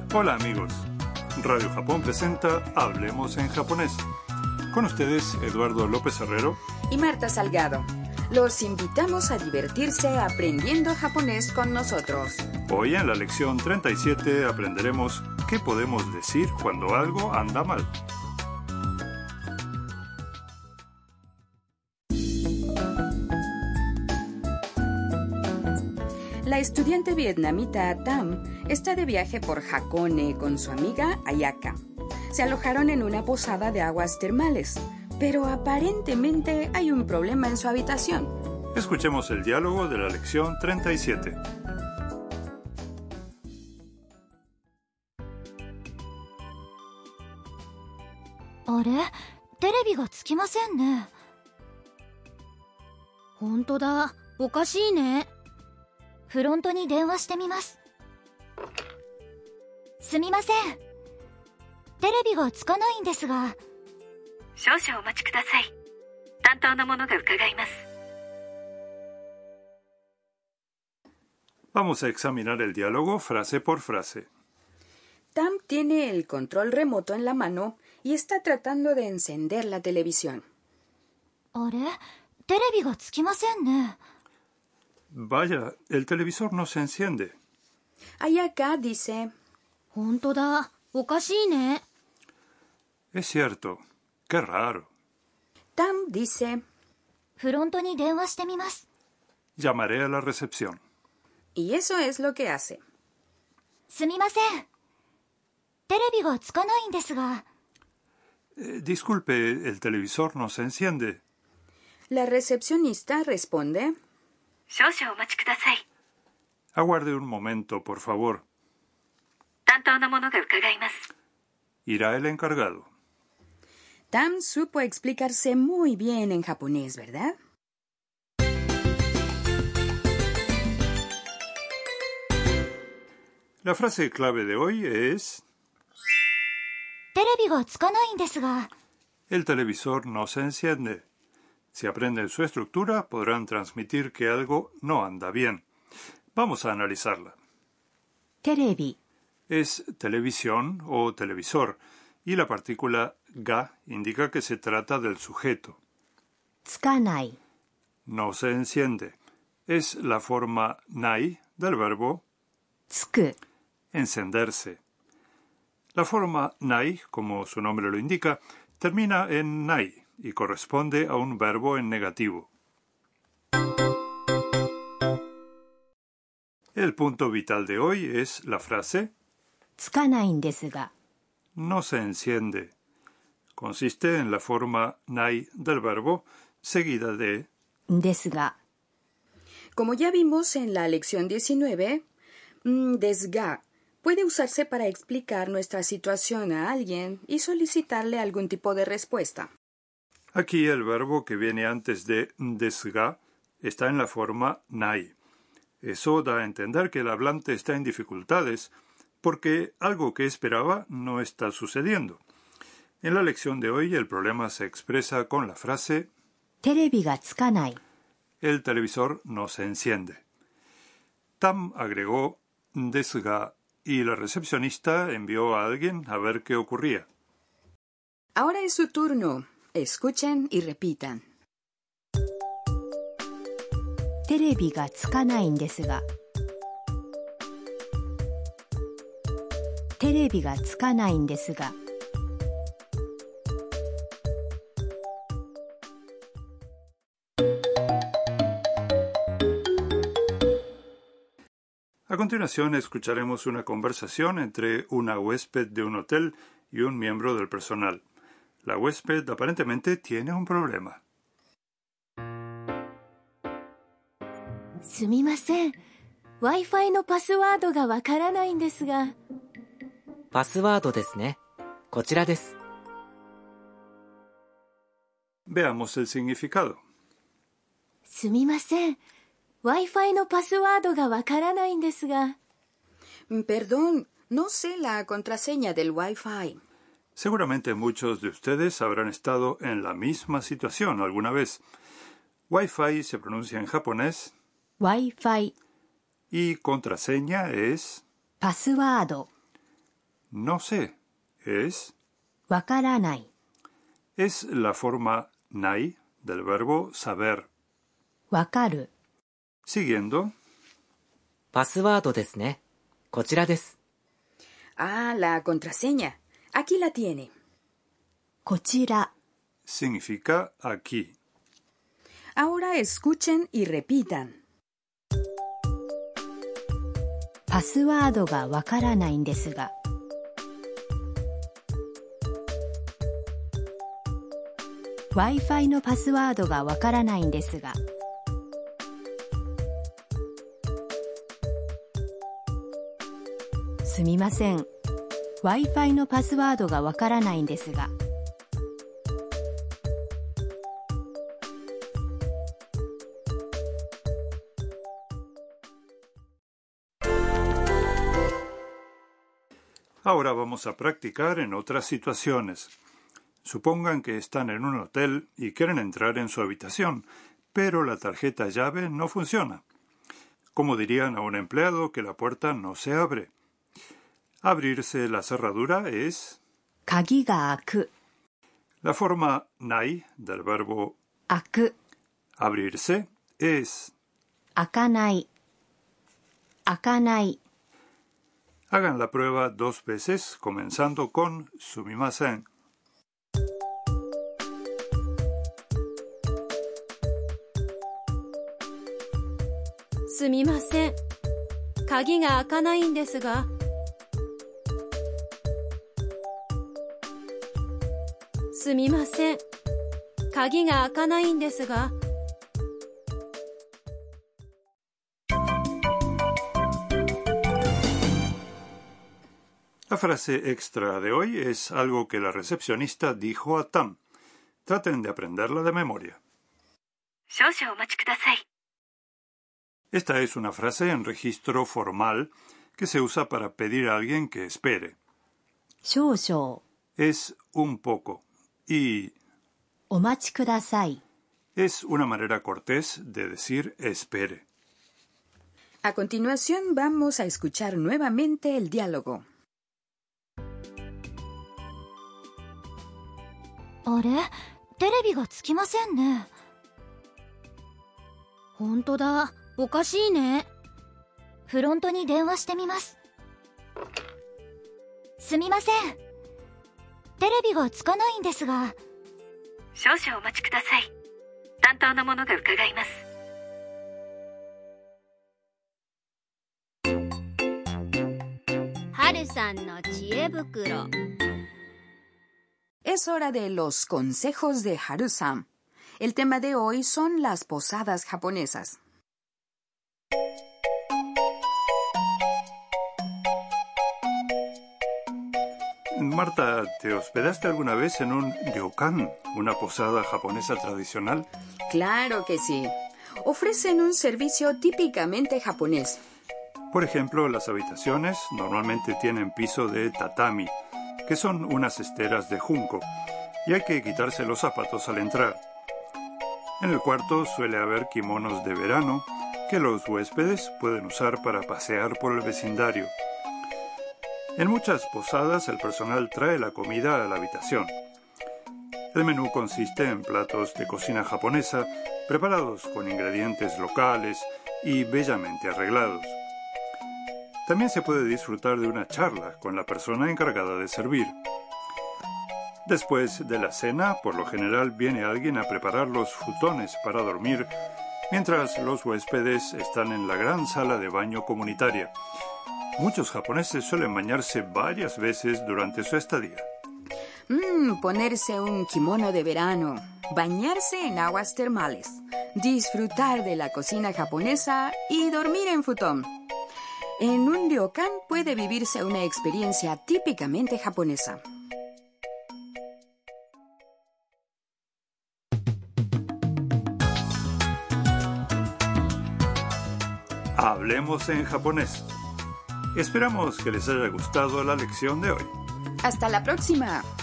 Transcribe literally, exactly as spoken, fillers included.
Hola amigos, Radio Japón presenta Hablemos en japonés. Con ustedes, Eduardo López Herrero y Marta Salgado. Los invitamos a divertirse aprendiendo japonés con nosotros. Hoy en la lección treinta y siete aprenderemos qué podemos decir cuando algo anda mal. La estudiante vietnamita Tam está de viaje por Hakone con su amiga Ayaka. Se alojaron en una posada de aguas termales, pero aparentemente hay un problema en su habitación. Escuchemos el diálogo de la lección treinta y siete. あれ、テレビがつきませんね。本当だ、おかしいね。フロントに電話してみます。すみません。テレビがつかないんですが。 少々お待ちください。担当の者が伺います。 Vamos a examinar el diálogo frase por frase. Tam tiene el control remoto en la mano y está tratando de encender la televisión. あれ、テレビがつきませんね。 Vaya, el televisor no se enciende. Ayaka dice, 本当だ、おかしいね。 Es cierto, qué raro. Tam dice, フロントに電話してみます。 Llamaré a la recepción. y eso es lo que hace. すみません。テレビがつかないんですが。 Eh, disculpe, el televisor no se enciende. La recepcionista responde, 少々お待ちください。 Aguarde un momento, por favor. 担当の者が伺います。 Irá el encargado. Tam supo explicarse muy bien en japonés, ¿verdad? La frase clave de hoy es テレビがつかないんですが。 El televisor no se enciende. Si aprenden su estructura, podrán transmitir que algo no anda bien. Vamos a analizarla. テレビ Es televisión o televisor, y la partícula ga indica que se trata del sujeto. つかない。 No se enciende. Es la forma nai del verbo つく encenderse. La forma nai, como su nombre lo indica, termina en nai y corresponde a un verbo en negativo. El punto vital de hoy es la frase つかないんですが。 no se enciende. Consiste en la forma nai del verbo seguida de ですが。 Como ya vimos en la lección diecinueve, mm, desga puede usarse para explicar nuestra situación a alguien y solicitarle algún tipo de respuesta. Aquí el verbo que viene antes de desga está en la forma nai. Eso da a entender que el hablante está en dificultades porque algo que esperaba no está sucediendo. En la lección de hoy el problema se expresa con la frase テレビがつかない。 el televisor no se enciende. Tam agregó desga y la recepcionista envió a alguien a ver qué ocurría. Ahora es su turno. Escuchen y repitan. テレビがつかないんですが。テレビがつかないんですが。 A continuación escucharemos una conversación entre una huésped de un hotel y un miembro del personal. La huésped aparentemente tiene un problema. すみません。Wi-Fi のパスワードがわからないんですが。 パスワードですね。こちらです。 Veamos el significado. すみません。Wi-Fi のパスワードがわからないんですが。 Perdón, no sé la contraseña del Wi-Fi. Seguramente muchos de ustedes habrán estado en la misma situación alguna vez. Wi-Fi se pronuncia en japonés Wi-Fi y contraseña es パスワード。 no sé, es... わからない。 Es la forma nai del verbo saber. わかる。 Siguiendo. パスワードですね。こちらです。 Ah, la contraseña. Aquí la tiene. こちら。 Significa aquí. Ahora escuchen y repitan. パスワードがわからないんですが。Wi-Fi のパスワードがわからないんですが。すみません。Wi-Fi のパスワードがわからないんですが。 Ahora vamos a practicar en otras situaciones. Supongan que están en un hotel y quieren entrar en su habitación, pero la tarjeta llave no funciona. ¿Cómo dirían a un empleado que la puerta no se abre? Abrirse la cerradura es... 鍵が開く。 La forma nai del verbo 開く。 abrirse es... 開かない。開かない。 Hagan la prueba dos veces, comenzando con sumimasen. すみません。鍵が開かないんですが。すみません。鍵が開かないんですが。 La frase extra de hoy es algo que la recepcionista dijo a Tam. Traten de aprenderla de memoria. 少々お待ちください。 Esta es una frase en registro formal que se usa para pedir a alguien que espere. 少々。 Es un poco y お待ちください。 es una manera cortés de decir espere. A continuación vamos a escuchar nuevamente el diálogo. あれ？テレビがつきませんね。ほんとだ。おかしいね。フロントに電話してみます。すみません。テレビがつかないんですが。 少々お待ちください。担当の者が伺います。 はるさんの知恵袋。 Es hora de los consejos de Haru-san. El tema de hoy son las posadas japonesas. Marta, ¿te hospedaste alguna vez en un ryokan, una posada japonesa tradicional? Claro que sí. Ofrecen un servicio típicamente japonés. Por ejemplo, las habitaciones normalmente tienen piso de tatami, que son unas esteras de junco, y hay que quitarse los zapatos al entrar. En el cuarto suele haber kimonos de verano que los huéspedes pueden usar para pasear por el vecindario. En muchas posadas el personal trae la comida a la habitación. El menú consiste en platos de cocina japonesa preparados con ingredientes locales y bellamente arreglados. También se puede disfrutar de una charla con la persona encargada de servir. Después de la cena, por lo general viene alguien a preparar los futones para dormir, mientras los huéspedes están en la gran sala de baño comunitaria. Muchos japoneses suelen bañarse varias veces durante su estadía. Mm, ponerse un kimono de verano, bañarse en aguas termales, disfrutar de la cocina japonesa y dormir en futón. En un ryokan puede vivirse una experiencia típicamente japonesa. Hablemos en japonés. Esperamos que les haya gustado la lección de hoy. ¡Hasta la próxima!